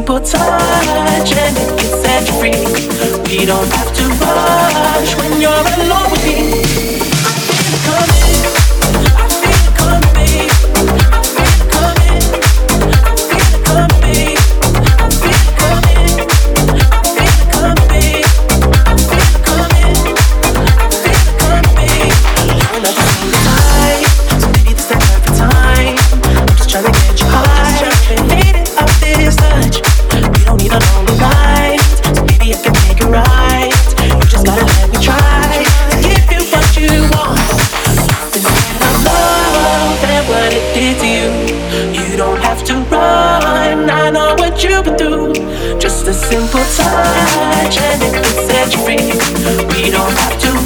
simple touch and it can set you free. We don't have to rush when you're alone with me. I feel it coming, I feel it coming, babe. I feel it coming, I feel it coming, babe. I feel it coming, I feel it coming, babe. I feel it coming, I feel it coming, babe. You're not the same type, so maybe this the perfect time. I'm just trying to get you high, fade it off this touch. We don't need a longer ride, so maybe I can make it right. You just gotta let me try to give you what you want. Instead of love and what it did to you, you don't have to run. I know what you've been through. Just a simple touch and it can set you free. We don't have to